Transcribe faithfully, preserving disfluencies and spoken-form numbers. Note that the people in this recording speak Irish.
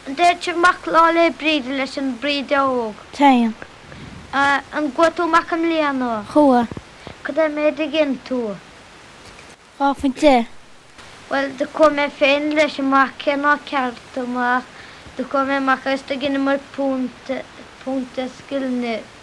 Dé se mac lá le bríd leis an bríd óg. Tain. An gotú mac am líanú. Chua. Cad é méid a gin tú? Ráfin te. Well, de kom mé féin leis mac cenná ceart amach. De kom mé mac as de gin mar punta punta skillne